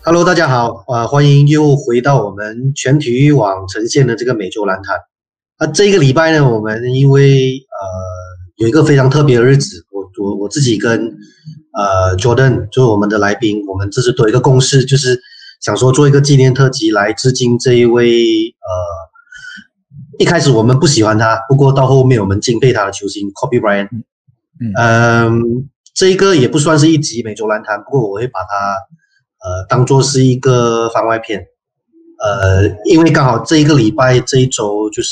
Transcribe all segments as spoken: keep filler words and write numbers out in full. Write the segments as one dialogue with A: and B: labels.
A: Hello，大家好，呃，欢迎又回到我们全体育网呈现的这个每周篮坛。那这一个礼拜呢，我们因为呃有一个非常特别的日子，我我我自己跟呃 Jordan 就是我们的来宾，我们这次多一个共识，就是想说做一个纪念特辑来致敬这一位呃一开始我们不喜欢他，不过到后面我们敬佩他的球星 Kobe Bryant。嗯，呃、这一个也不算是一集每周篮坛，不过我会把它。呃，当做是一个番外篇，呃，因为刚好这一个礼拜这一周就是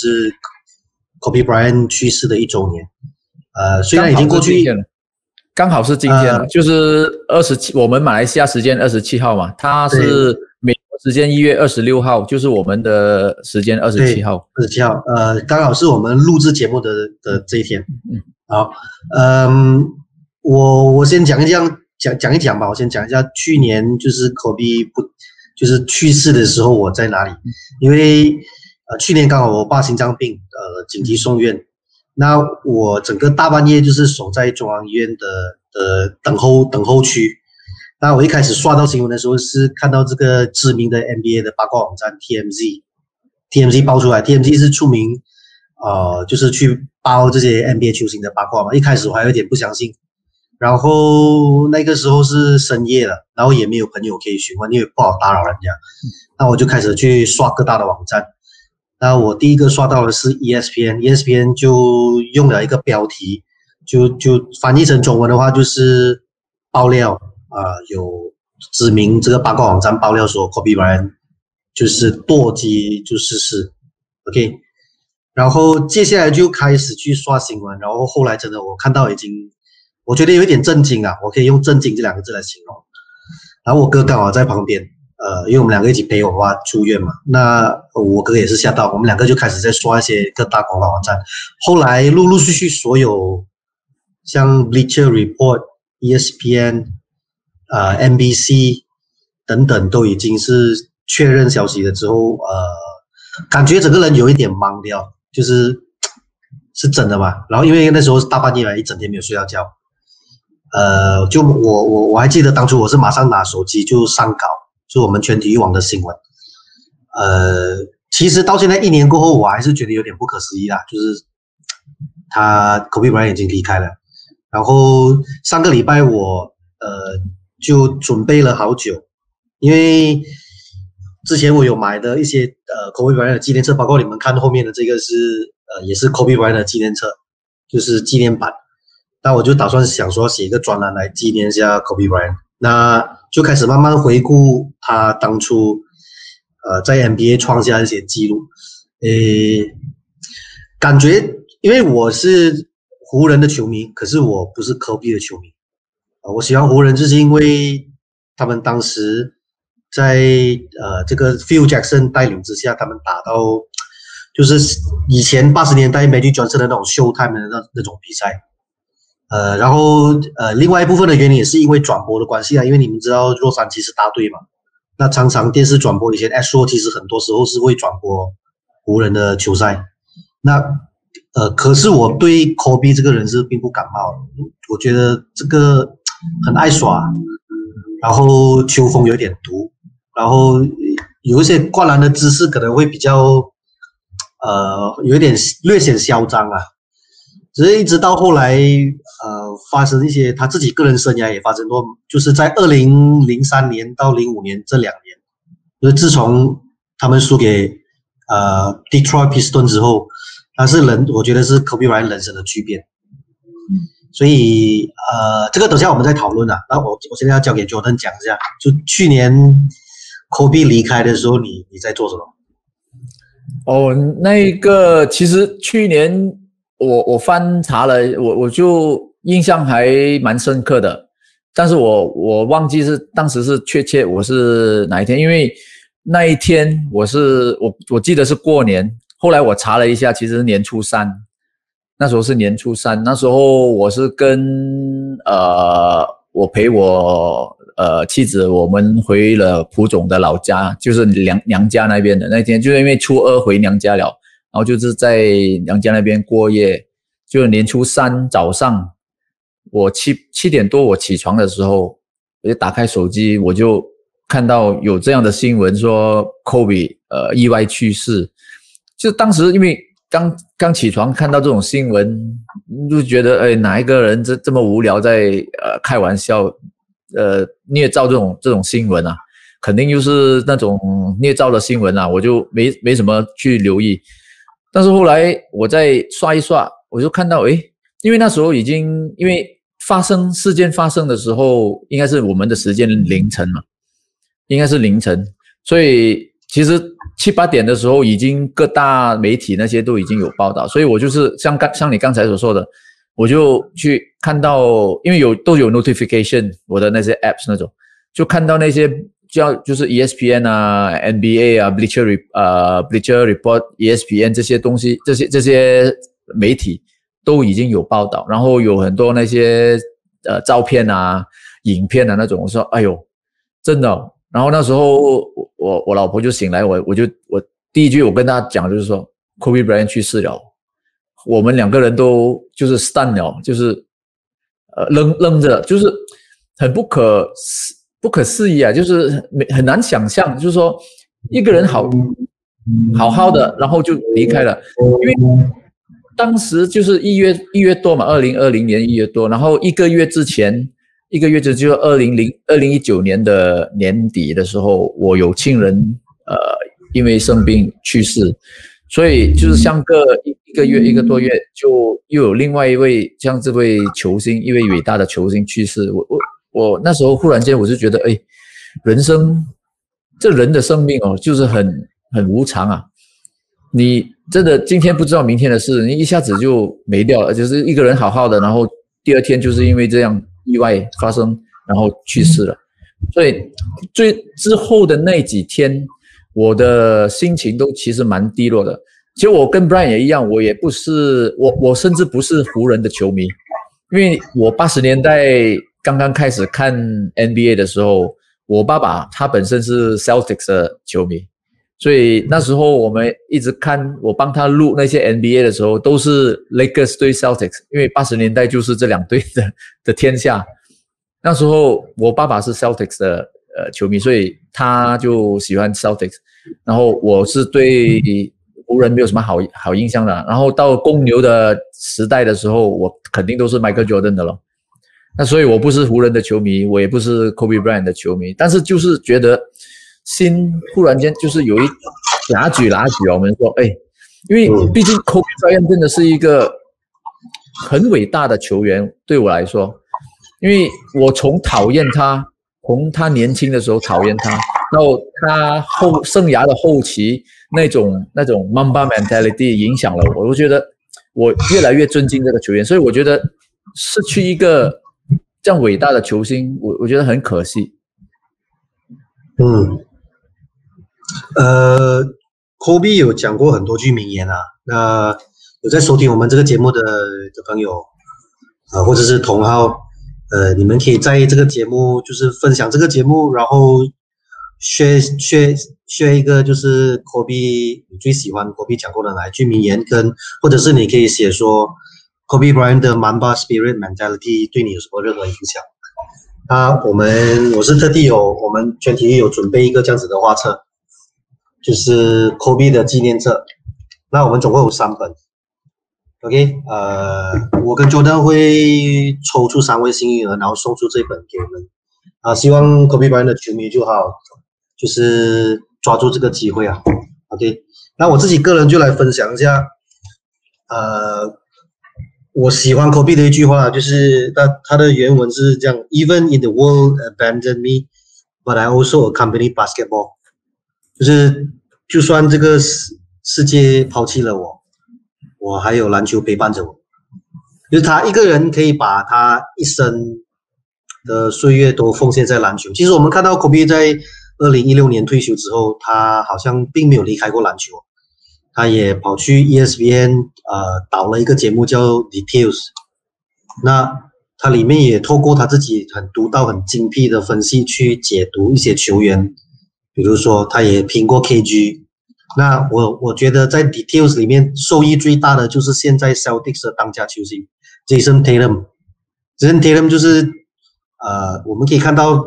A: Kobe Bryant 去世的一周年，呃，虽然已经过去，
B: 刚好是今天了，呃、就是二十七，我们马来西亚时间二十七号嘛，他是美国时间一月二十六号，就是我们的时间二十七号，
A: 二十七号，呃，刚好是我们录制节目的的这一天。嗯，好，嗯，我我先讲一讲。讲讲一讲吧，我先讲一下去年就是 Kobe 不就是去世的时候我在哪里，因为呃去年刚好我爸心脏病呃紧急送院，那我整个大半夜就是守在中央医院的的等候等候区，那我一开始刷到新闻的时候是看到这个知名的 N B A 的八卦网站 T M Z，T M Z 爆出来 ，T M Z 是出名呃就是去爆这些 N B A 球星的八卦嘛，一开始我还有点不相信。然后那个时候是深夜了，然后也没有朋友可以询问，因为不好打扰人家。那我就开始去刷各大的网站。那我第一个刷到的是 E S P N，E S P N 就用了一个标题，就就翻译成中文的话就是爆料啊、呃，有知名这个八卦网站爆料说 Kobe Bryant 就是堕机就逝世 ，OK。然后接下来就开始去刷新闻，然后后来真的我看到已经。我觉得有一点震惊啊，我可以用震惊这两个字来形容。然后我哥刚好在旁边，呃，因为我们两个一起陪我爸出院嘛，那我哥也是吓到，我们两个就开始在刷一些各大广告网站。后来陆陆续续所有像 Bleacher Report、E S P N、呃 N B C 等等都已经是确认消息了之后，呃，感觉整个人有一点懵掉，就是是真的嘛？然后因为那时候是大半夜嘛，一整天没有睡到觉。呃，就我我我还记得当初我是马上拿手机就上稿，就我们全体育网的新闻。呃，其实到现在一年过后，我还是觉得有点不可思议啦，就是他 Kobe Bryant 已经离开了。然后上个礼拜我呃就准备了好久，因为之前我有买的一些呃 Kobe Bryant 的纪念册，包括你们看后面的这个是呃也是 Kobe Bryant 的纪念册，就是纪念版。那我就打算想说写一个专栏来纪念一下 Kobe Bryant， 那就开始慢慢回顾他当初呃在 N B A 创下一些记录。诶，感觉因为我是湖人的球迷，可是我不是 Kobe 的球迷。呃、我喜欢湖人就是因为他们当时在呃这个 Phil Jackson 带领之下，他们打到就是以前八十年代 Magic Johnson 的那种 Showtime 的那那种比赛。呃，然后呃，另外一部分的原因也是因为转播的关系啊，因为你们知道洛杉矶是大队嘛，那常常电视转播以前 Astro 其实很多时候是会转播湖人的球赛，那呃，可是我对 Kobe 这个人是并不感冒，我觉得这个很爱耍，然后球风有点毒，然后有一些灌篮的姿势可能会比较呃有一点略显嚣张啊。只是一直到后来，呃，发生一些他自己个人生涯也发生过，就是在二零零三年到零五年这两年，就是自从他们输给呃 Detroit Pistons 之后，他是人，我觉得是 Kobe Bryant 人生的巨变。所以呃，这个等下我们再讨论啊。那我我现在要交给 Jordan 讲一下，就去年 Kobe 离开的时候，你你在做什么？
B: 哦，那个其实去年。我我翻查了，我我就印象还蛮深刻的，但是我我忘记是当时是确切我是哪一天，因为那一天我是我我记得是过年，后来我查了一下，其实是年初三，那时候是年初三，那时候我是跟呃我陪我呃妻子，我们回了蒲总的老家，就是娘娘家那边的那天，就是因为初二回娘家了。然后就是在娘家那边过夜，就年初三早上，我七七点多我起床的时候，我就打开手机，我就看到有这样的新闻说 Kobe 呃意外去世，就当时因为刚刚起床看到这种新闻，就觉得哎哪一个人这这么无聊在呃开玩笑，呃捏造这种这种新闻啊，肯定就是那种捏造的新闻啊，我就没没什么去留意。但是后来我再刷一刷，我就看到哎，因为那时候已经因为发生事件发生的时候，应该是我们的时间凌晨嘛，应该是凌晨，所以其实七八点的时候，已经各大媒体那些都已经有报道，所以我就是像刚像你刚才所说的，我就去看到，因为有都有 notification， 我的那些 apps 那种，就看到那些叫就是 E S P N 啊、N B A 啊、Bleacher 呃 Bleacher Report、E S P N 这些东西，这些这些媒体都已经有报道，然后有很多那些呃照片啊、影片啊那种，我说哎呦，真的哦。然后那时候我我我老婆就醒来，我我就我第一句我跟她讲就是说 Kobe Bryant 去世了，我们两个人都就是 stun 了，就是呃愣愣着，就是很不可不可思议啊，就是很难想象，就是说一个人好好好的，然后就离开了，因为当时就是一月一月多嘛，二零二零年一月多，然后一个月之前。一个月之就二零零二零一九年的年底的时候，我有亲人呃因为生病去世，所以就是相隔一一个月一个多月，就又有另外一位像这位球星，一位伟大的球星去世。我我我那时候忽然间我就觉得，哎，人生这人的生命哦，就是很很无常啊。你真的今天不知道明天的事，你一下子就没掉了，就是一个人好好的，然后第二天就是因为这样。意外发生，然后去世了，所以最之后的那几天，我的心情都其实蛮低落的。其实我跟 Brian 也一样，我也不是我我甚至不是湖人的球迷，因为我八十年代刚刚开始看 N B A 的时候，我爸爸他本身是 Celtics 的球迷，所以那时候我们一直看，我帮他录那些 N B A 的时候，都是 Lakers 对 Celtics， 因为八十年代就是这两队的的天下。那时候我爸爸是 Celtics 的呃球迷，所以他就喜欢 Celtics， 然后我是对湖人没有什么好好印象的。然后到公牛的时代的时候，我肯定都是 Michael Jordan 的了。那所以我不是湖人的球迷，我也不是 Kobe Bryant 的球迷，但是就是觉得心忽然间就是有一拉举拉举，我们说，哎，因为毕竟 Kobe Bryant 真的是一个很伟大的球员，对我来说，因为我从讨厌他，从他年轻的时候讨厌他，到他后生涯的后期那种那种 Mamba mentality 影响了我，我觉得我越来越尊敬这个球员，所以我觉得失去一个这样伟大的球星，我我觉得很可惜。
A: 嗯。呃 ，Kobe 有讲过很多句名言啊。那有在收听我们这个节目的的朋友，呃，或者是同好，呃，你们可以在这个节目就是分享这个节目，然后 share share share 一个就是 Kobe 你最喜欢 Kobe 讲过的哪一句名言，跟或者是你可以写说 Kobe Bryant 的 Mamba Spirit Mentality 对你有什么任何影响。啊，我们我是特地有我们全体有准备一个这样子的画册。就是 Kobe 的纪念册，那我们总共有三本 ，OK， 呃，我跟 Jordan 会抽出三位幸运儿，然后送出这本给我们，啊，希望 Kobe Bryant 的球迷就好，就是抓住这个机会啊 ，OK， 那我自己个人就来分享一下，呃，我喜欢 Kobe 的一句话，就是他他的原文是这样 ：Even in the world abandoned me, but I also accompany basketball。就是就算这个世世界抛弃了我，我还有篮球陪伴着我。就是他一个人可以把他一生的岁月都奉献在篮球。其实我们看到 Kobe 在二零一六年退休之后，他好像并没有离开过篮球，他也跑去 E S P N 呃导了一个节目叫 Details， 那他里面也透过他自己很独到很精辟的分析去解读一些球员。比如说，他也评过 K G， 那我我觉得在 Details 里面受益最大的就是现在 Celtics 的当家球星 Jason Tatum。Jason Tatum 就是呃，我们可以看到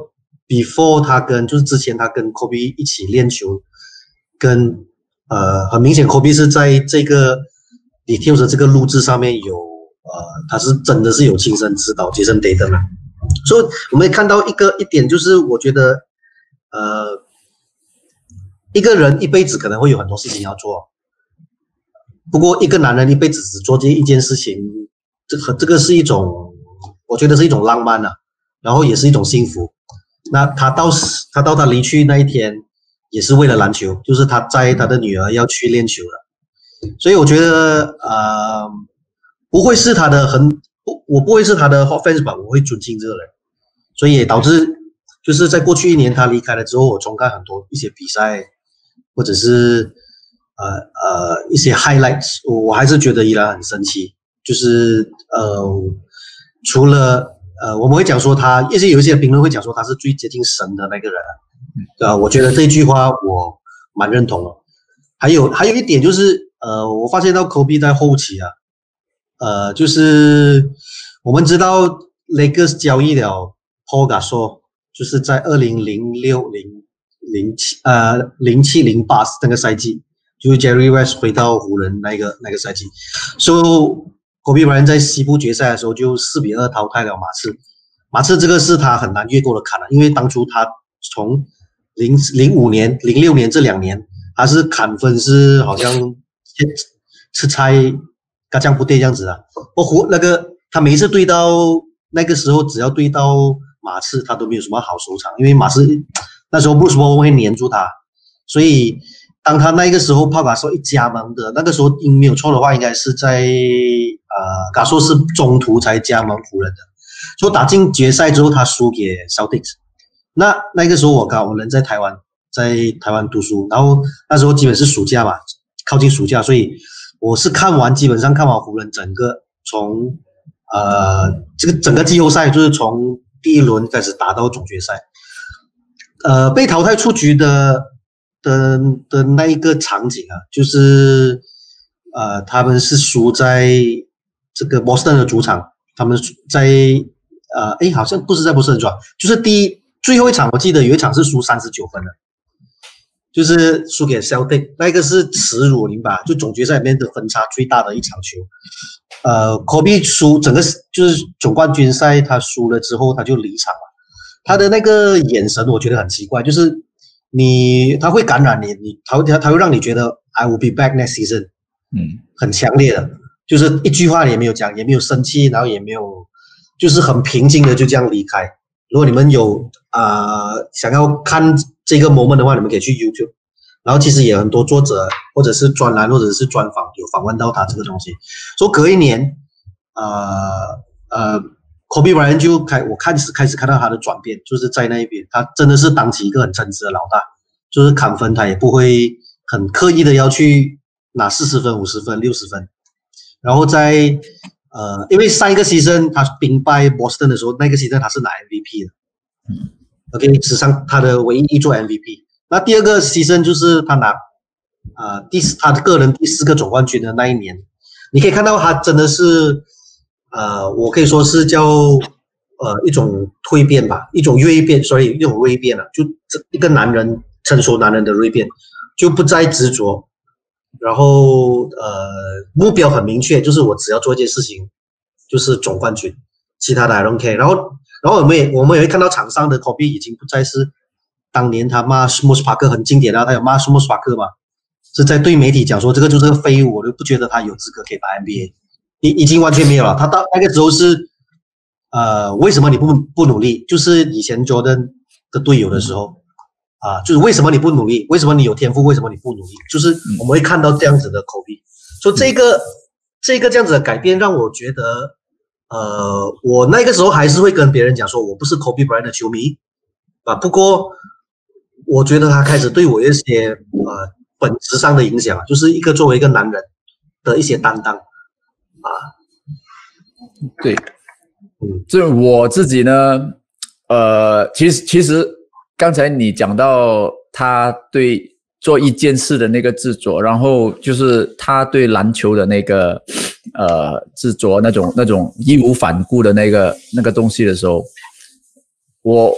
A: before 他跟就是之前他跟 Kobe 一起练球，跟呃很明显 Kobe 是在这个 details 的这个录制上面有呃他是真的是有亲身指导 Jason Tatum 的，所以我们也看到一个一点就是我觉得呃一个人一辈子可能会有很多事情要做，不过一个男人一辈子只做这一件事情，这个这个是一种我觉得是一种浪漫啊，然后也是一种幸福。那他到他到他离去那一天，也是为了篮球，就是他载他的女儿要去练球了。所以我觉得，呃，不会是他的很，不，我不会是他的 hot fans 吧，我会尊敬这个人。所以也导致，就是在过去一年他离开了之后，我重看很多一些比赛，或者是呃呃一些 highlights， 我我还是觉得依然很生气。就是呃，除了呃，我们会讲说他，一些有一些评论会讲说他是最接近神的那个人，对吧？我觉得这句话我蛮认同的。还有还有一点就是，呃，我发现到 Kobe 在后期啊，呃，就是我们知道 Lakers 交易了 Paul Gasol， 就是在二零零六零零七呃零七零八那个赛季，就是 Jerry West 回到湖人那个那个赛季，所以。Kobe Bryant 在西部决赛的时候就四比二淘汰了马刺，马刺这个是他很难越过的坎了，因为当初他从零零五年、零六年这两年，他是砍分是好像吃菜嘎酱不对这样子啊。不过那个他每一次对到那个时候，只要对到马刺，他都没有什么好收场，因为马刺那时候 Bruce Bowen 会黏住他，所以。当他那个时候泡Gasol一加盟的那个时候，应没有错的话，应该是在呃Gasol是中途才加盟湖人的，所以打进决赛之后，他输给 Celtics。那那个时候我刚好人在台湾，在台湾读书，然后那时候基本是暑假嘛，靠近暑假，所以我是看完基本上看完湖人整个从呃这个整个季后赛，就是从第一轮开始打到总决赛，呃被淘汰出局的。的的那一个场景啊，就是呃，他们是输在这个波士顿的主场，他们在呃，哎，好像不是在波士顿主场，就是第一最后一场，我记得有一场是输三十九分的，就是输给 Celtic， 那个是耻辱，明白？就总决赛里面的分差最大的一场球。呃 ，Kobe 输整个就是总冠军赛，他输了之后他就离场了，他的那个眼神我觉得很奇怪，就是。你他会感染你，你他会他会让你觉得 I will be back next season， 嗯，很强烈的，就是一句话也没有讲，也没有生气，然后也没有，就是很平静的就这样离开。如果你们有啊、呃、想要看这个 moment 的话，你们可以去 YouTube， 然后其实也有很多作者或者是专栏或者是专访有访问到他这个东西，说隔一年，呃呃。Kobe Bryant 就开，我开始开始看到他的转变，就是在那一边，他真的是当起一个很称职的老大，就是砍分他也不会很刻意的要去拿四十分、五十分、六十分，然后在呃，因为上一个 season 他兵败 Boston 的时候，那个 season 他是拿 M V P 的，嗯 ，OK， 史上他的唯一一座 M V P。那第二个 season 就是他拿呃第他的个人第四个总冠军的那一年，你可以看到他真的是。呃，我可以说是叫呃一种蜕变吧，一种锐变，所以一种锐变啊，就这一个男人成熟男人的锐变，就不再执着，然后呃目标很明确，就是我只要做一件事情，就是总冠军，其他的 I don't care。然后然后我们也我们也会看到场上的 Kobe 已经不再是当年他骂斯莫斯帕克很经典的，他有骂斯莫斯帕克嘛，是在对媒体讲说这个就是个废物，我就不觉得他有资格可以打 N B A。已已经完全没有了。他到那个时候是，呃，为什么你不不努力？就是以前 Jordan 的队友的时候，啊，就是为什么你不努力？为什么你有天赋？为什么你不努力？就是我们会看到这样子的口碑。所以这个这个这样子的改变让我觉得，呃，我那个时候还是会跟别人讲说，我不是 Kobe Bryant 的球迷啊。不过我觉得他开始对我一些呃本质上的影响，就是一个作为一个男人的一些担当。啊，
B: 对，嗯，这我自己呢，呃，其实其实刚才你讲到他对做一件事的那个执着，然后就是他对篮球的那个呃执着，那种那种义无反顾的那个那个东西的时候，我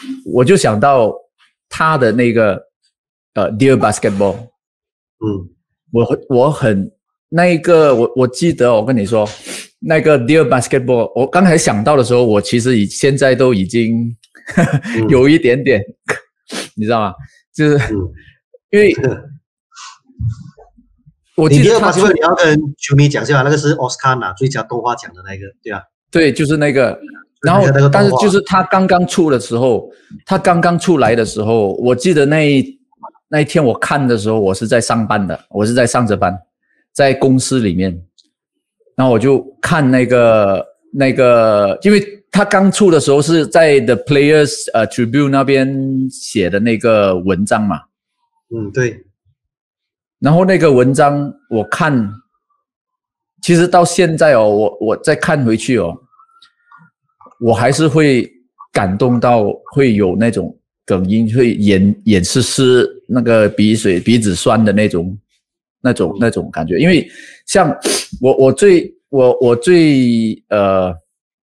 B: 我就想到他的那个呃 Dear Basketball，
A: 嗯，
B: 我我很那一个我我记得我跟你说那个 Dear Basketball， 我刚才想到的时候，我其实已现在都已经呵呵、嗯、有一点点，你知道吗？就是、嗯、因为。
A: 我记得他出，你要跟球迷讲一下，那个是奥斯卡拿最佳动画奖的那个，对吧？
B: 对，就是那个。然后，但是就是他刚刚出的时候，他刚刚出来的时候，我记得那一那一天我看的时候，我是在上班的，我是在上着班，在公司里面。然后我就看那个那个，因为他刚出的时候是在 The Players 呃 Tribune 那边写的那个文章嘛。
A: 嗯，对。
B: 然后那个文章我看，其实到现在哦，我我再看回去哦，我还是会感动到会有那种哽咽，会眼眼湿湿，那个鼻水鼻子酸的那种那种那种感觉。因为像我我最我我最呃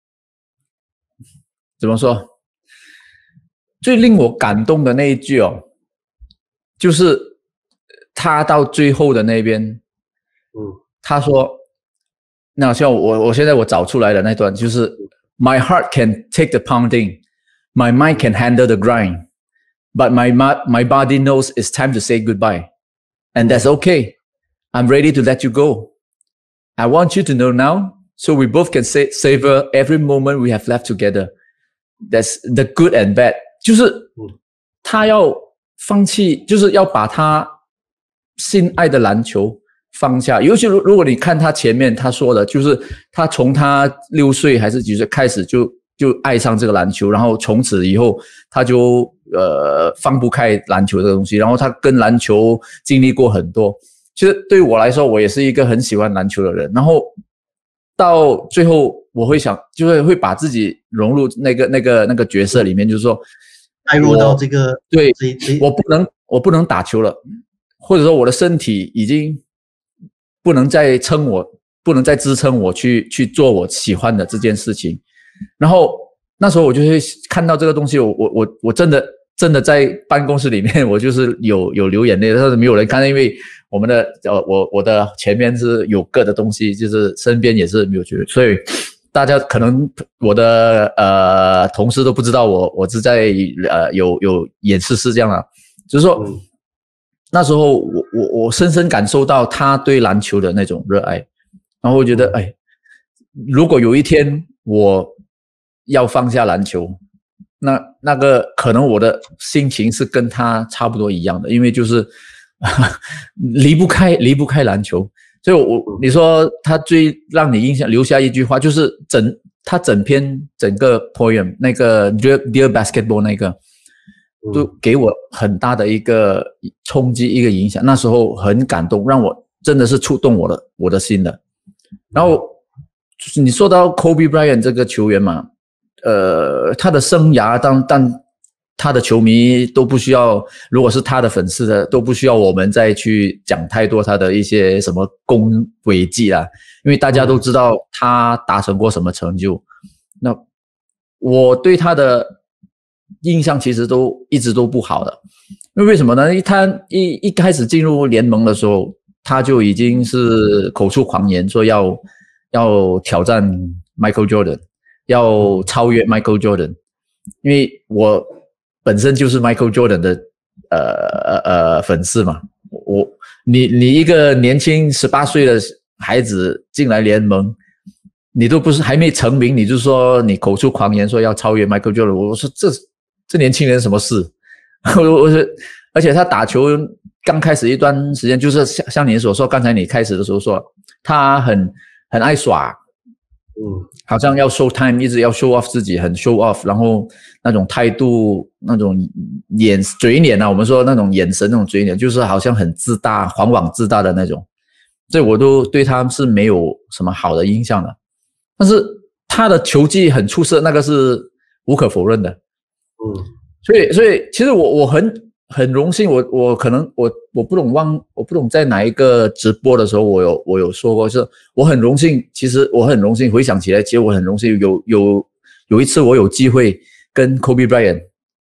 B: 怎么说，最令我感动的那一句哦，就是他到最后的那边，
A: 嗯，
B: 他说，那像我我现在我找出来的那段就是 My heart can take the pounding, my mind can handle the grind, but my my body knows it's time to say goodbye, and that's okay. I'm ready to let you go. I want you to know now, so we both can say, savor every moment we have left together. That's the good and bad. 就是他要放弃，就是要把他心爱的篮球放下。尤其如果你看他前面他说的，就是他从他六岁还是几岁开始就就爱上这个篮球，然后从此以后他就呃放不开篮球这个东西，然后他跟篮球经历过很多。其实对于我来说，我也是一个很喜欢篮球的人，然后到最后我会想，就是会把自己融入那个那个那个角色里面，就是说
A: 带入到这个
B: 对，我不能我不能打球了。或者说我的身体已经不能再撑我，不能再支撑我去去做我喜欢的这件事情。然后那时候我就会看到这个东西，我我我我真的真的在办公室里面，我就是有有流眼泪，但是没有人看，因为我们的呃我我的前面是有个的东西，就是身边也是没有觉得，所以大家可能我的呃同事都不知道我我是在呃有有演示是这样的，就是说。嗯那时候我我我深深感受到他对篮球的那种热爱，然后我觉得哎，如果有一天我要放下篮球，那那个可能我的心情是跟他差不多一样的，因为就是离不开离不开篮球。所以我你说他最让你印象留下一句话，就是整他整篇整个 poem 那个 Dear Basketball 那个。都给我很大的一个冲击，一个影响。那时候很感动，让我真的是触动我的我的心的。然后你说到 Kobe Bryant 这个球员嘛，呃，他的生涯当但他的球迷都不需要，如果是他的粉丝的，都不需要我们再去讲太多他的一些什么功伟绩啦，因为大家都知道他达成过什么成就。那我对他的印象其实都一直都不好的，因为为什么呢？他一一开始进入联盟的时候，他就已经是口出狂言，说要要挑战 Michael Jordan， 要超越 Michael Jordan。因为我本身就是 Michael Jordan 的呃呃粉丝嘛，我你你一个年轻十八岁的孩子进来联盟。你都不是还没成名，你就说你口出狂言说要超越 Michael Jordan， 我说这这年轻人什么事？我我说，而且他打球刚开始一段时间，就是像像你所说，刚才你开始的时候说他很很爱耍，嗯，好像要 show time， 一直要 show off 自己，很 show off， 然后那种态度，那种眼嘴脸啊，我们说那种眼神，那种嘴脸，就是好像很自大，狂妄自大的那种，所以我都对他是没有什么好的印象的。但是他的球技很出色，那个是无可否认的。嗯，所以所以其实我我很很荣幸，我我可能我我不懂忘我不懂在哪一个直播的时候，我有我有说过，是我很荣幸，其实我很荣幸回想起来，其实我很荣幸有有有一次我有机会跟 Kobe Bryant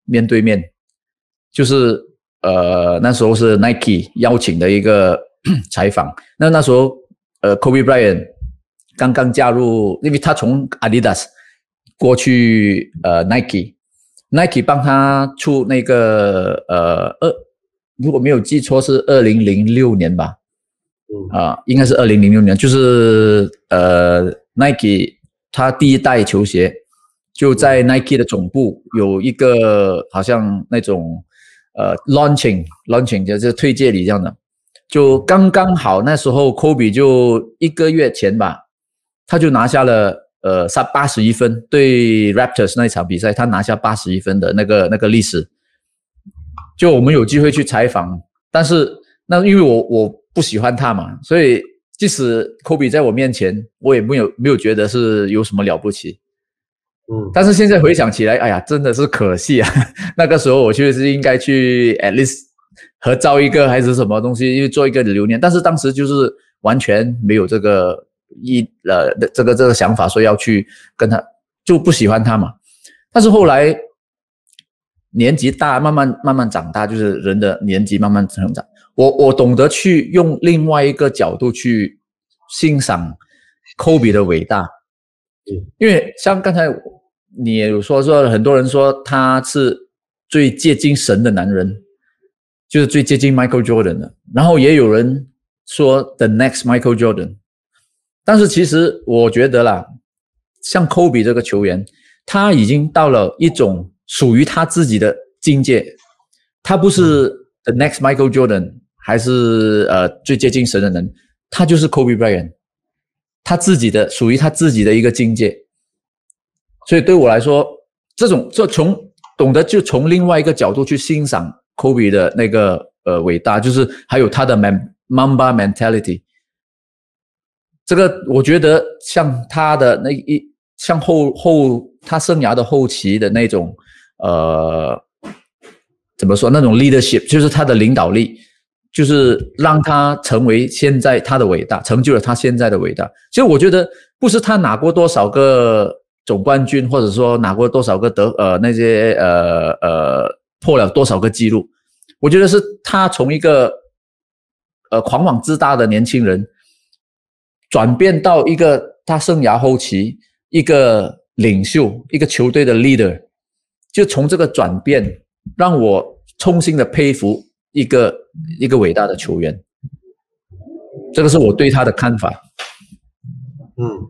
B: 面对面，就是呃那时候是 Nike 邀请的一个采访。那那时候呃 Kobe Bryant 刚刚加入，因为他从 Adidas 过去呃 Nike，Nike 帮他出那个呃二，如果没有记错是二零零六年吧，啊、呃，应该是二零零六年，就是呃 Nike 他第一代球鞋就在 Nike 的总部有一个好像那种呃 launching launching 就是推介礼这样的，就刚刚好那时候 Kobe 就一个月前吧，他就拿下了呃八十一分，对 Raptors 那一场比赛他拿下八十一分的那个那个历史。就我们有机会去采访，但是那因为我我不喜欢他嘛，所以即使 Kobe 在我面前，我也没有没有觉得是有什么了不起。嗯，但是现在回想起来，哎呀，真的是可惜啊！那个时候我就是应该去 at least 合照一个还是什么东西，因为做一个留念。但是当时就是完全没有这个一呃这个这个想法，说要去跟他，就不喜欢他嘛。但是后来年纪大，慢慢慢慢长大，就是人的年纪慢慢成长。我我懂得去用另外一个角度去欣赏 Kobe 的伟大，因为像刚才你也有说说，很多人说他是最接近神的男人，就是最接近 Michael Jordan 的，然后也有人说 The next Michael Jordan， 但是其实我觉得啦，像 Kobe 这个球员，他已经到了一种属于他自己的境界，他不是 The next Michael Jordan， 还是呃最接近神的人，他就是 Kobe Bryant， 他自己的属于他自己的一个境界。所以对我来说，这种就从懂得就从另外一个角度去欣赏 Kobe 的那个呃伟大，就是还有他的 Mamba mentality。这个我觉得像他的那一像后后他生涯的后期的那种呃怎么说那种 leadership， 就是他的领导力，就是让他成为现在他的伟大，成就了他现在的伟大。其实我觉得不是他拿过多少个总冠军，或者说拿过多少个得呃那些呃呃破了多少个记录，我觉得是他从一个呃狂妄自大的年轻人，转变到一个他生涯后期一个领袖，一个球队的 leader， 就从这个转变让我衷心的佩服一个一个伟大的球员，这个是我对他的看法。
A: 嗯。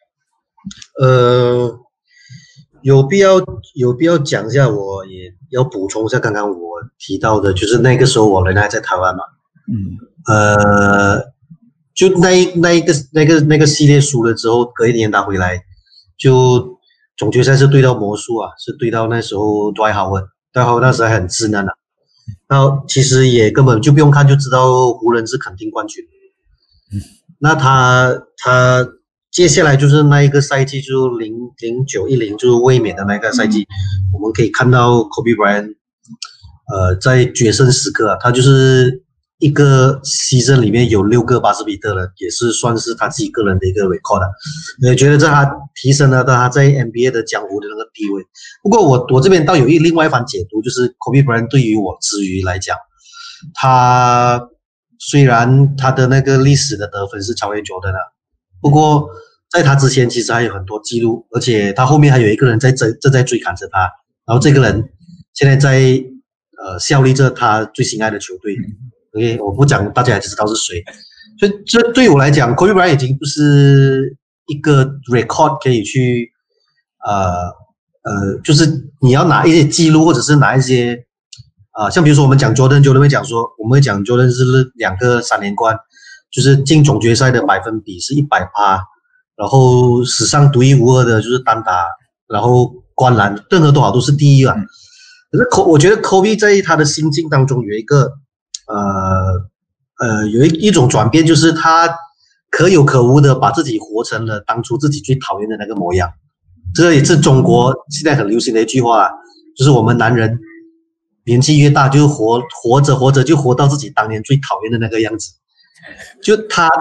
A: 呃，有必要有必要讲一下，我也要补充一下刚刚我提到的，就是那个时候我人还在台湾嘛，嗯，呃，就那一那一个那个那个系列输了之后，隔一年打回来，就总决赛是对到魔术啊，是对到那时候 Dwight Howard，Dwight Howard那时候还很稚嫩啊，然后其实也根本就不用看就知道湖人是肯定冠军，嗯，那他他。接下来就是那一个赛季，就零零九一零，就是卫冕的那个赛季，我们可以看到 Kobe Bryant， 呃，在决胜时刻啊，他就是一个season里面有六个八十比特的，也是算是他自己个人的一个 record 啊。我觉得这他提升了他在 N B A 的江湖的那个地位。不过我我这边倒有一另外一番解读，就是 Kobe Bryant 对于我之余来讲，他虽然他的那个历史的得分是超越 Jordan 啊。不过在他之前其实还有很多记录，而且他后面还有一个人在正正在追赶着他，然后这个人现在在呃效力着他最心爱的球队。OK， 我不讲大家也知道是谁。所以这对我来讲 ，Kobe Bryant 已经不是一个 record 可以去呃呃，就是你要拿一些记录，或者是拿一些啊、呃，像比如说我们讲 Jordan，Jordan 会讲说，我们会讲 Jordan 是两个三连冠。就是进总决赛的百分比是 百分之百， 然后史上独一无二的就是单打，然后灌篮，任何多少都是第一啊。可是我觉得 Kobe 在他的心境当中有一个呃呃有一一种转变，就是他可有可无的把自己活成了当初自己最讨厌的那个模样。这个也是中国现在很流行的一句话，就是我们男人年纪越大，就活活着活着就活到自己当年最讨厌的那个样子。就他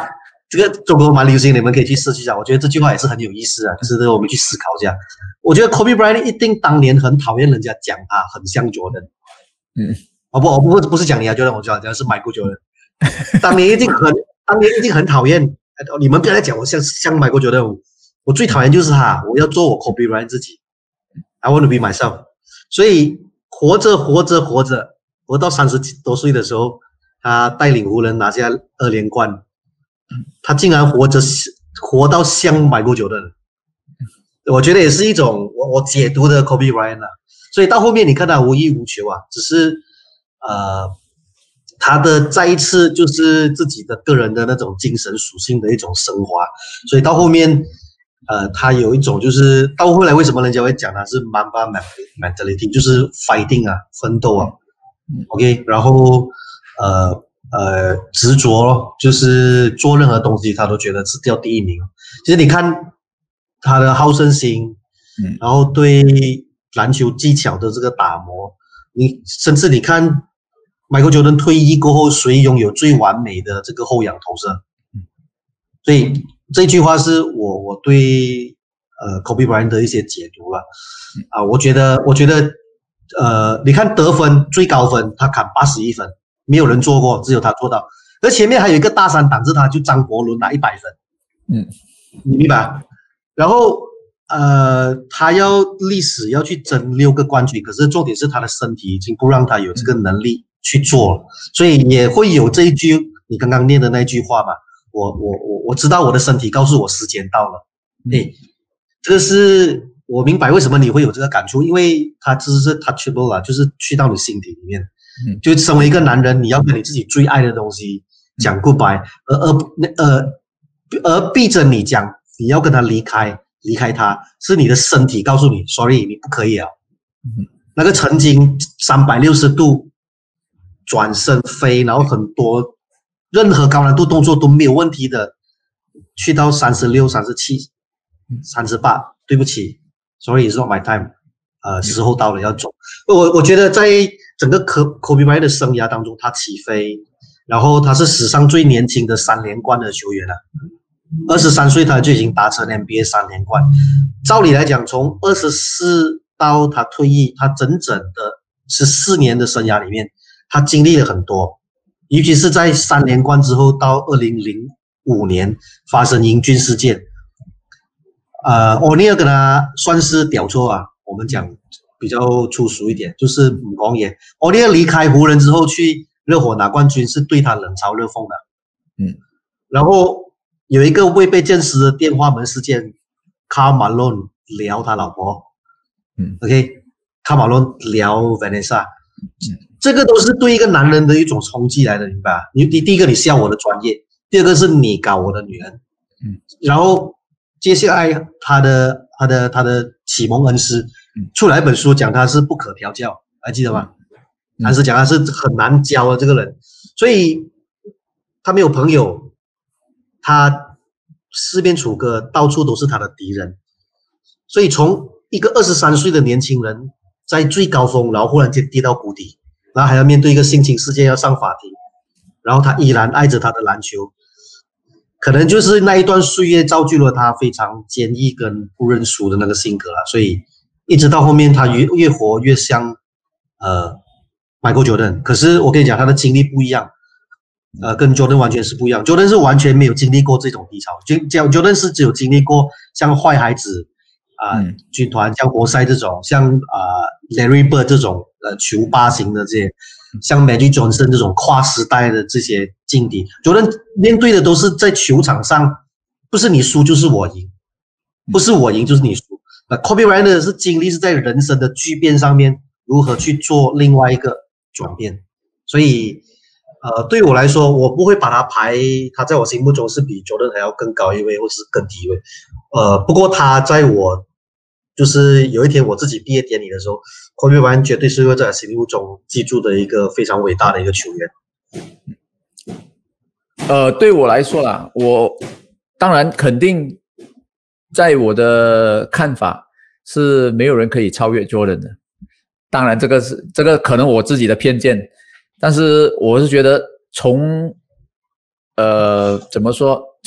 A: 这个中国蛮流行，你们可以去试一下。我觉得这句话也是很有意思啊，值得我们去思考一下。我觉得 Kobe Bryant 一定当年很讨厌人家讲他很像 Jordan。嗯，哦不，我不不是讲你啊 Jordan， 我讲讲是 Michael Jordan。当年一定很，当年一定很讨厌。你们不要再讲我像像 Michael Jordan， 我最讨厌就是他，我要做我 Kobe Bryant 自己。I want to be myself。所以活着活着活着，活到三十多岁的时候，他带领湖人拿下二连冠，他竟然活着活到像 Michael Jordan。我觉得也是一种我我解读的 Kobe Bryant 啊，所以到后面你看他无欲无求啊，只是呃他的再一次就是自己的个人的那种精神属性的一种升华，所以到后面呃他有一种就是到后来为什么人家会讲他是 Mamba mentality， 就是 fighting 啊，奋斗啊 ，OK， 然后呃呃执着咯，就是做任何东西他都觉得是掉第一名。其实你看他的好胜心，嗯，然后对篮球技巧的这个打磨，你甚至你看 Michael Jordan 退役过后，谁拥有最完美的这个后仰投射？所以这句话是我我对呃 Kobe Bryant 的一些解读了啊，我觉得我觉得呃，你看得分最高分他砍八十一分，没有人做过，只有他做到，而前面还有一个大山挡着他，就张伯伦拿一百分，嗯，你明白？然后，呃，他要历史要去争六个冠军，可是重点是他的身体已经不让他有这个能力去做了，所以也会有这一句你刚刚念的那句话嘛。我我我我知道我的身体告诉我时间到了，哎，这个是我明白为什么你会有这个感触，因为他只是 touchable 啊，就是去到你心底里面，就身为一个男人，你要跟你自己最爱的东西讲 goodbye， 而而呃而逼着你讲。你要跟他离开，离开他是你的身体告诉你 ，sorry， 你不可以啊。嗯、那个曾经三百六十度转身飞，然后很多任何高难度动作都没有问题的，去到三十六、三十七、三十八，对不起 ，sorry， it's not my time， 呃，时候到了要走。我我觉得在整个 Kobe Bryant 的生涯当中，他起飞，然后他是史上最年轻的三连冠的球员了。二十三岁他就已经达成 N B A 三连冠，照理来讲，从二十四到他退役，他整整的十四年的生涯里面，他经历了很多，尤其是在三连冠之后，到二零零五年发生英军事件，呃，欧尼尔跟他算是屌错啊，我们讲比较粗俗一点，就是唔講嘢。欧尼尔离开湖人之后去热火拿冠军，是对他冷嘲热讽的，嗯，然后。有一个未被证实的电话门事件，卡马龙聊他老婆，嗯 ，OK， 卡马龙聊 Vanessa， 嗯，这个都是对一个男人的一种冲击来的，明白？你第第一个你笑我的专业，第二个是你搞我的女人，嗯，然后接下来他的他的他的启蒙恩师出来一本书讲他是不可调教，还记得吗？但是讲他是很难教的这个人，所以他没有朋友。他四面楚歌，到处都是他的敌人，所以从一个二十三岁的年轻人在最高峰，然后忽然间跌到谷底，然后还要面对一个性侵事件要上法庭，然后他依然爱着他的篮球，可能就是那一段岁月造就了他非常坚毅跟不认输的那个性格了，所以一直到后面他越越活越像呃 Michael Jordan， 可是我跟你讲他的经历不一样。呃，跟 Jordan 完全是不一样 ，Jordan 是完全没有经历过这种低潮，就 Jordan 是只有经历过像坏孩子啊、呃嗯、军团、像活塞这种，像啊、呃、Larry Bird 这种呃球霸型的这些，像 Magic Johnson 这种跨时代的这些劲敌 ，Jordan 面对的都是在球场上，不是你输就是我赢，不是我赢就是你输。那 Kobe Bryant 是经历是在人生的巨变上面如何去做另外一个转变，所以。呃，对我来说，我不会把他排，他在我心目中是比 Jordan 还要更高一位，或是更低一位。呃，不过他在我就是有一天我自己毕业典礼的时候 ，Kobe Bryant 绝对是会在我心目中记住的一个非常伟大的一个球员。
B: 呃，对我来说啦，我当然肯定，在我的看法是没有人可以超越 Jordan 的。当然，这个是这个可能我自己的偏见。但是我是觉得从呃怎么说，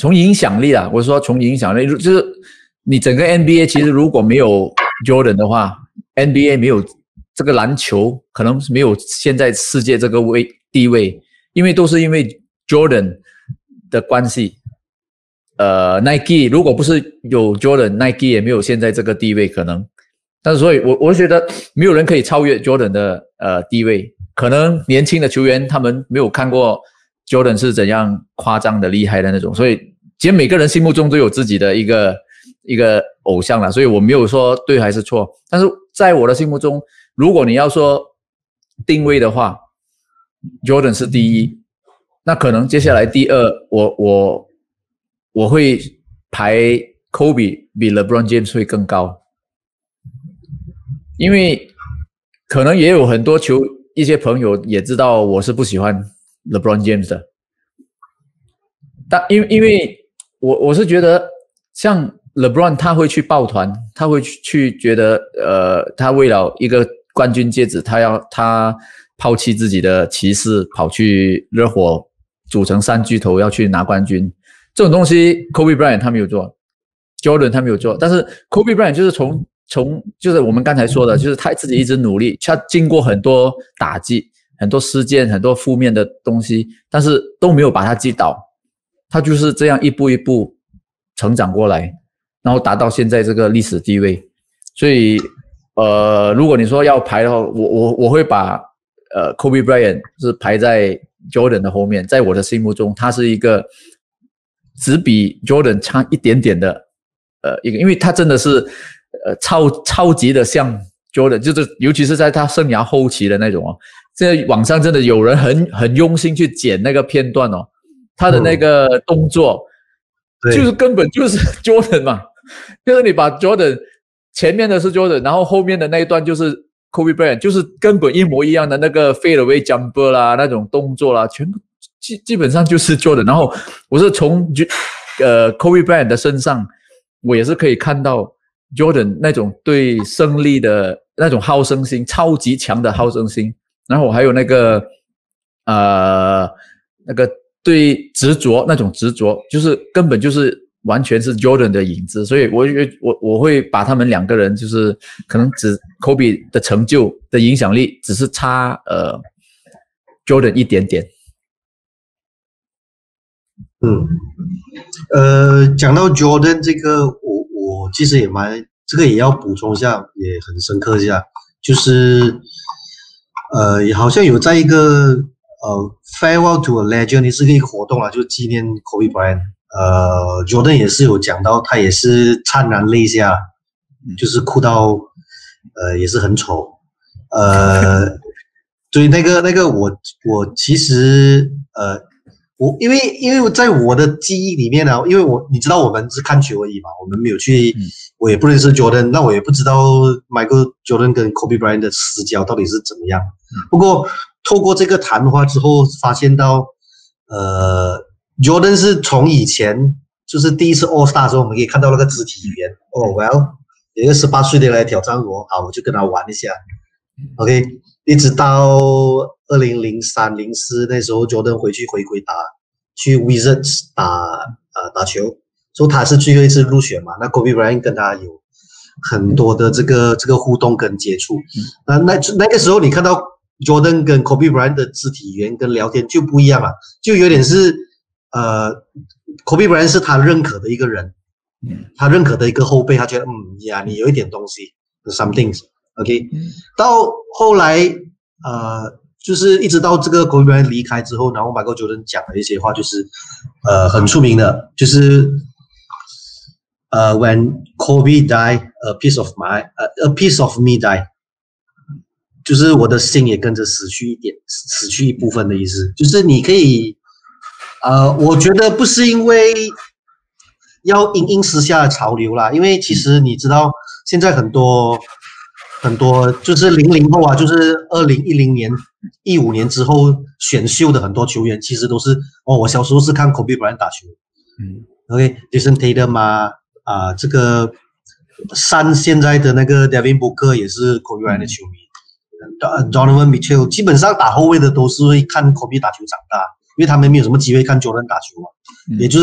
B: 从影响力啊，我说从影响力，就是你整个 N B A 其实如果没有 Jordan 的话 ，N B A 没有这个篮球，可能没有现在世界这个位地位，因为都是因为 Jordan 的关系。呃 ，Nike 如果不是有 Jordan，Nike 也没有现在这个地位可能。但是所以我，我我觉得没有人可以超越 Jordan 的呃地位。可能年轻的球员他们没有看过 Jordan 是怎样夸张的厉害的那种，所以其实每个人心目中都有自己的一个一个偶像啦，所以我没有说对还是错。但是在我的心目中，如果你要说定位的话 ，Jordan 是第一，那可能接下来第二，我我我会排 Kobe 比 LeBron James 会更高。因为可能也有很多球一些朋友也知道我是不喜欢 LeBron James 的，但因为因为我我是觉得像 LeBron 他会去抱团，他会去去觉得呃他为了一个冠军戒指，他要他抛弃自己的骑士，跑去热火组成三巨头要去拿冠军，这种东西 Kobe Bryant 他没有做， Jordan 他没有做，但是 Kobe Bryant 就是从从就是我们刚才说的，就是他自己一直努力，他经过很多打击、很多事件、很多负面的东西，但是都没有把他击倒，他就是这样一步一步成长过来，然后达到现在这个历史地位。所以，呃，如果你说要排的话，我我我会把呃 Kobe Bryant 是排在 Jordan 的后面，在我的心目中，他是一个只比 Jordan 差一点点的呃一个，因为他真的是。呃，超超级的像 Jordan， 就是尤其是在他生涯后期的那种哦，现在网上真的有人很很用心去剪那个片段哦，他的那个动作，嗯、就是根本就是 Jordan 嘛，就是你把 Jordan 前面的是 Jordan， 然后后面的那一段就是 Kobe Bryant， 就是根本一模一样的那个 fadeaway jumper 啦，那种动作啦，全部基基本上就是 Jordan。然后我是从呃 Kobe Bryant 的身上，我也是可以看到。Jordan 那种对胜利的那种好胜心，超级强的好胜心，然后还有那个呃那个对执着那种执着，就是根本就是完全是 Jordan 的影子，所以我我我会把他们两个人就是可能只 Kobe 的成就的影响力只是差呃 Jordan 一点点。
A: 嗯，呃，讲到 Jordan 这个，我我其实也蛮这个也要补充一下，也很深刻一下，就是呃，好像有在一个呃 Farewell to a Legend 也是一个活动啊，就纪念 Kobe Bryant。呃 ，Jordan 也是有讲到，他也是潸然泪下，就是哭到呃也是很丑，呃，所以那个那个我我其实呃。我因为因为在我的记忆里面呢、啊，因为我你知道我们是看球而已嘛，我们没有去，嗯、我也不认识 Jordan， 那我也不知道 Michael Jordan 跟 Kobe Bryant 的私交到底是怎么样。嗯、不过透过这个谈话之后，发现到，呃 ，Jordan 是从以前就是第一次 All Star 的时候，我们可以看到那个肢体语言。哦 ，Well， 有一个十八岁的来挑战我，好，我就跟他玩一下。OK， 一直到二零零三、零四那时候 ，Jordan 回去回归打去 Wizards 打呃打球，所以他是最后一次入选嘛。那 Kobe Bryant 跟他有很多的这个这个互动跟接触。那那那个时候你看到 Jordan 跟 Kobe Bryant 的肢体语言跟聊天就不一样了，就有点是呃 Kobe Bryant 是他认可的一个人，他认可的一个后辈，他觉得嗯呀你有一点东西 ，some things。OK， 到后来，呃，就是一直到这个 Kobe Bryant 离开之后，然后 Michael Jordan 讲的一些话，就是呃很出名的，就是呃 When Kobe died, a piece of my, a piece of me died， 就是我的心也跟着死去一点，死去一部分的意思，就是你可以，呃，我觉得不是因为要因应时下的潮流啦，因为其实你知道现在很多。很多就是零零后啊，就是二零一零年、一五年之后选秀的很多球员，其实都是哦，我小时候是看 Kobe Bryant 打球，嗯 ，OK，Jason Tatum 啊，啊，这个山现在的那个 Devin Booker 也是 Kobe Bryant 的球迷 ，Donovan Mitchell 基本上打后卫的都是会看 Kobe 打球长大，因为他们没有什么机会看 Jordan 打球嘛，嗯、也就是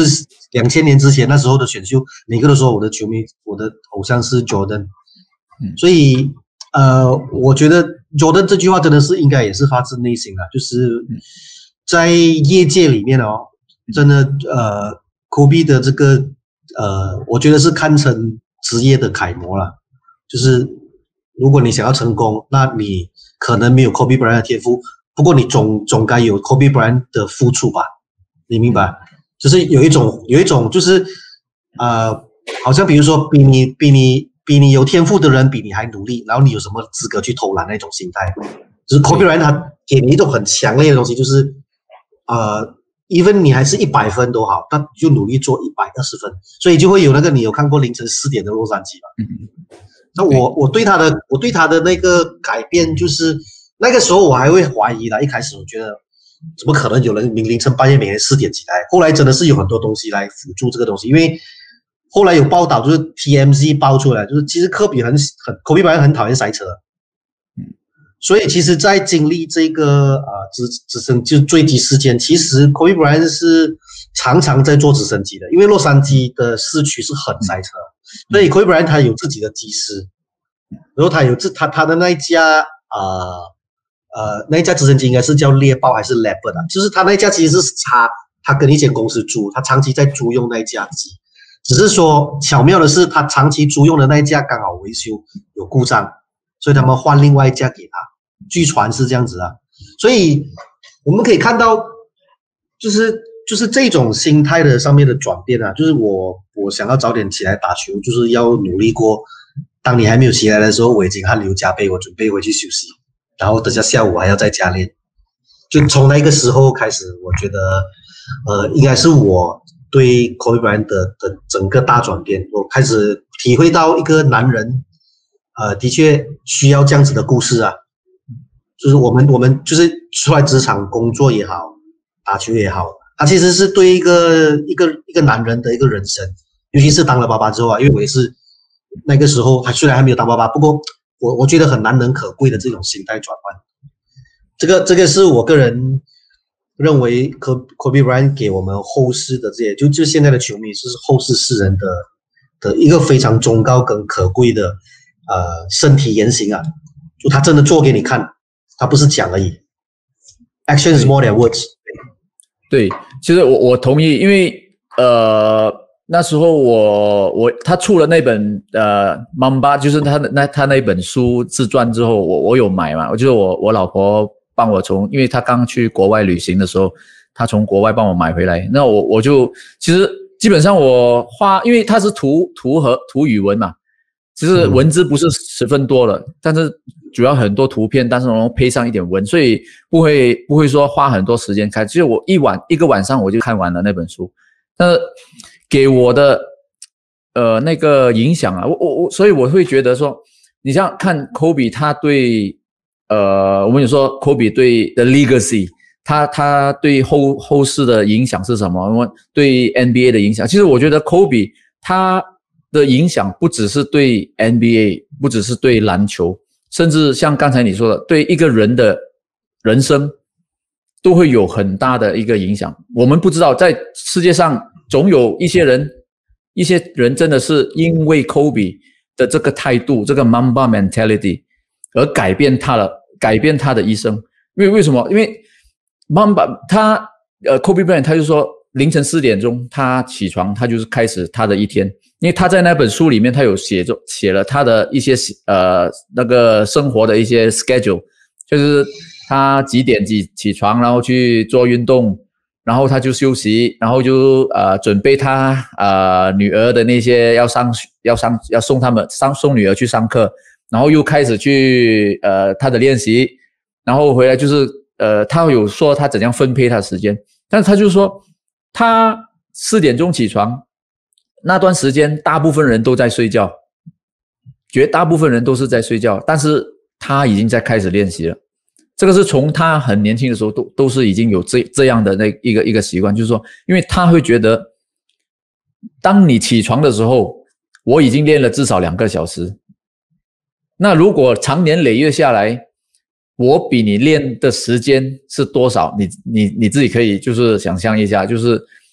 A: 两千年之前那时候的选秀，每个都说我的球迷，我的偶像是 Jordan，嗯，所以呃，我觉得 Jordan 这句话真的是应该也是发自内心的，就是在业界里面哦，真的呃 ，Kobe 的这个呃，我觉得是堪称职业的楷模了，就是如果你想要成功，那你可能没有 Kobe Bryant 的天赋，不过你总总该有 Kobe Bryant 的付出吧？你明白？就是有一种有一种就是呃，好像比如说比你比你比你有天赋的人比你还努力，然后你有什么资格去偷懒那种心态？就是 Kobe Bryant 他给你一种很强烈的东西，就是呃 ，even 你还是一百分都好，他就努力做一百二十分，所以就会有那个你有看过凌晨四点的洛杉矶吧？那我我对他的我对他的那个改变就是，那个时候我还会怀疑啦，一开始我觉得怎么可能有人凌晨半夜每天四点起来？后来真的是有很多东西来辅助这个东西，因为后来有报道就是 T M Z 爆出来，就是其实科比很很 Kobe Bryant 很讨厌赛车，嗯，所以其实，在经历这个呃直直升就坠机事件，其实 Kobe Bryant 是常常在坐直升机的，因为洛杉矶的市区是很塞车。所以 Kobe Bryant 他有自己的机师，然后他有自他他的那一架呃呃那一架直升机应该是叫猎豹还是 Leopard 啊？就是他那一架其实是他他跟一间公司租，他长期在租用那一架机，只是说巧妙的是他长期租用的那一架刚好维修有故障，所以他们换另外一架给他，据传是这样子啊。所以我们可以看到，就是就是这种心态的上面的转变啊，就是我我想要早点起来打球，就是要努力过。当你还没有起来的时候，我已经汗流浃背，我准备回去休息，然后等下下午还要再加练。就从那个时候开始，我觉得，呃，应该是我对 Kobe Bryant 的的整个大转变，我开始体会到一个男人，呃，的确需要这样子的故事啊。就是我们我们就是出来职场工作也好，打球也好。他其实是对一个一个一个男人的一个人生，尤其是当了爸爸之后啊，因为我也是那个时候还虽然还没有当爸爸，不过我我觉得很难能可贵的这种心态转换。这个这个是我个人认为 Kobe Bryant 给我们后世的这些，就就现在的球迷是后世世人的的一个非常忠告跟可贵的呃身体言行啊，就他真的做给你看，他不是讲而已。Action is more than words。
B: 对，其实我我同意，因为呃那时候我我他出了那本呃 Mamba， 就是他那他那本书自传之后，我我有买嘛，我就是我我老婆帮我从，因为他刚去国外旅行的时候，他从国外帮我买回来，那我我就其实基本上我花，因为它是图图和图语文嘛，其实文字不是十分多了，嗯、但是主要很多图片，但是然后配上一点文，所以不会不会说花很多时间看，就是我一晚一个晚上我就看完了那本书。那给我的呃那个影响啊，我我我，所以我会觉得说，你像看 Kobe 他对呃我们有说 Kobe 对的 legacy， 他他对后后世的影响是什么？我们对 N B A 的影响，其实我觉得 Kobe 他的影响不只是对 N B A， 不只是对篮球。甚至像刚才你说的，对一个人的人生都会有很大的一个影响。我们不知道，在世界上总有一些人，一些人真的是因为 Kobe 的这个态度，这个 Mamba mentality 而改变他了，改变他的一生。因为为什么？因为 Mamba 他呃 Kobe Bryant 他就说凌晨四点钟他起床，他就是开始他的一天。因为他在那本书里面，他有写着写了他的一些呃那个生活的一些 schedule， 就是他几点几起床，然后去做运动，然后他就休息，然后就呃准备他呃女儿的那些要上要上要送他们上送女儿去上课，然后又开始去呃他的练习，然后回来就是呃他有说他怎样分配他的时间，但是他就说他四点钟起床。那段时间大部分人都在睡觉，绝大部分人都是在睡觉，但是他已经在开始练习了。这个是从他很年轻的时候都都是已经有这这样的那一个一个习惯，就是说，因为他会觉得，当你起床的时候，我已经练了至少两个小时。那如果长年累月下来，我比你练的时间是多少？你你你自己可以就是想象一下，就是。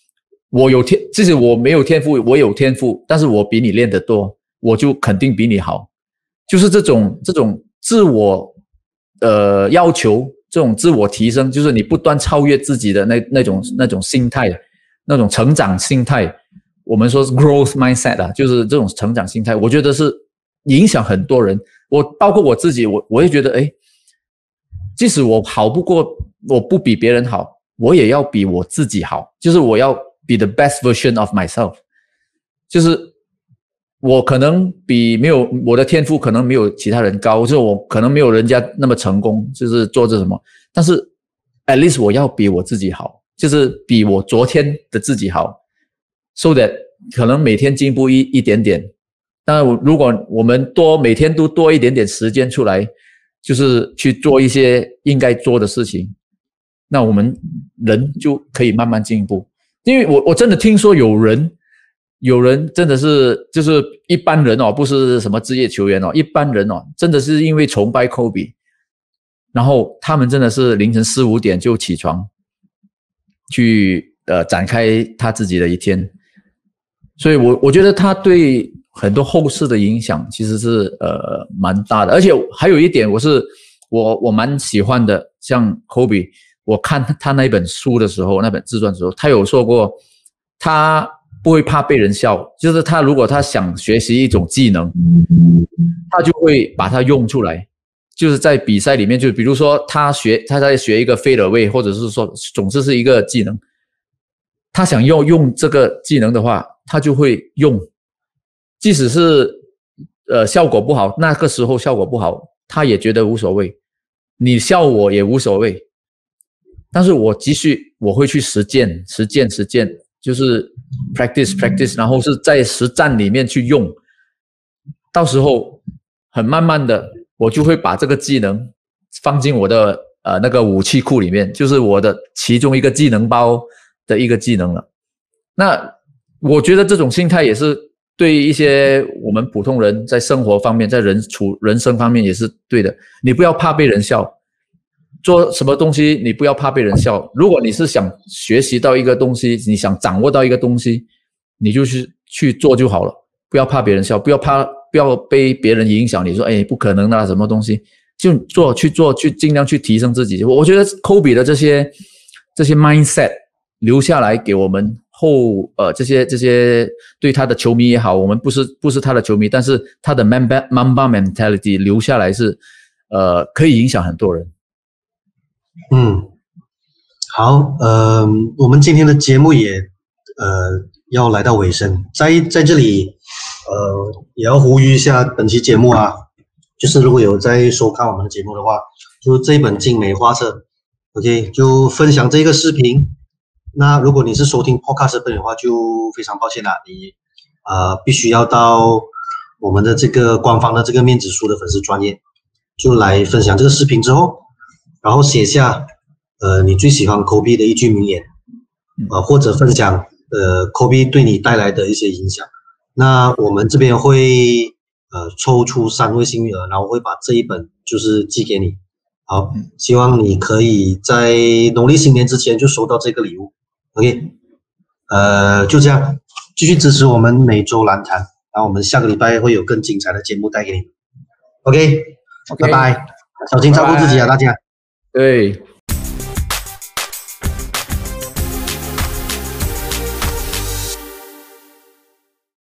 B: 我有天，即使我没有天赋，我有天赋，但是我比你练得多，我就肯定比你好。就是这种这种自我呃要求，这种自我提升，就是你不断超越自己的那那种那种心态，那种成长心态。我们说是 growth mindset 啊，就是这种成长心态，我觉得是影响很多人。我包括我自己，我我也觉得，哎，即使我好不过，我不比别人好，我也要比我自己好，就是我要 be the best version of myself。就是我可能比没有我的天赋可能没有其他人高，就是我可能没有人家那么成功，就是做这什么，但是 at least 我要比我自己好，就是比我昨天的自己好。So that 可能每天进步一一点点，但如果我们多每天都多一点点时间出来，就是去做一些应该做的事情，那我们人就可以慢慢进步。因为我我真的听说有人有人真的是就是一般人哦，不是什么职业球员哦，一般人哦，真的是因为崇拜 Kobe， 然后他们真的是凌晨四五点就起床去呃展开他自己的一天。所以我我觉得他对很多后世的影响其实是呃蛮大的。而且还有一点我是我我蛮喜欢的，像 Kobe， 我看他那本书的时候，那本自传的时候，他有说过他不会怕被人笑，就是他如果他想学习一种技能，他就会把它用出来，就是在比赛里面，就比如说他学他在学一个fade away，或者是说总之是一个技能，他想要用这个技能的话，他就会用，即使是呃效果不好，那个时候效果不好，他也觉得无所谓，你笑我也无所谓，但是我继续我会去实践实践实践，就是 practice practice， 然后是在实战里面去用，到时候很慢慢的我就会把这个技能放进我的呃那个武器库里面，就是我的其中一个技能包的一个技能了。那我觉得这种心态也是对一些我们普通人在生活方面，在人处人生方面也是对的。你不要怕被人笑，做什么东西你不要怕被人笑。如果你是想学习到一个东西，你想掌握到一个东西，你就去去做就好了，不要怕别人笑，不要怕不要被别人影响。你说哎不可能的什么东西，就做去做，去尽量去提升自己。我觉得 Kobe 的这些这些 mindset 留下来给我们后呃这些这些对他的球迷也好，我们不是不是他的球迷，但是他的 Mamba Mamba mentality 留下来是呃可以影响很多人。
A: 嗯，好，呃，我们今天的节目也呃要来到尾声，在在这里呃也要呼吁一下本期节目啊，就是如果有在收看我们的节目的话，就这一本精美画册 ，OK， 就分享这个视频。那如果你是收听 podcast 的话，就非常抱歉啦，你呃必须要到我们的这个官方的这个面子书的粉丝专页，就来分享这个视频之后，然后写下呃你最喜欢 Kobe 的一句名言，呃或者分享呃 Kobe 对你带来的一些影响。那我们这边会呃抽出三位幸运儿，然后会把这一本就是寄给你。好，希望你可以在农历新年之前就收到这个礼物。OK， 呃，就这样，继续支持我们每周篮坛，然后我们下个礼拜会有更精彩的节目带给你。OK，
B: OK，
A: 拜拜，小心照顾自己啊，大家。
B: 对。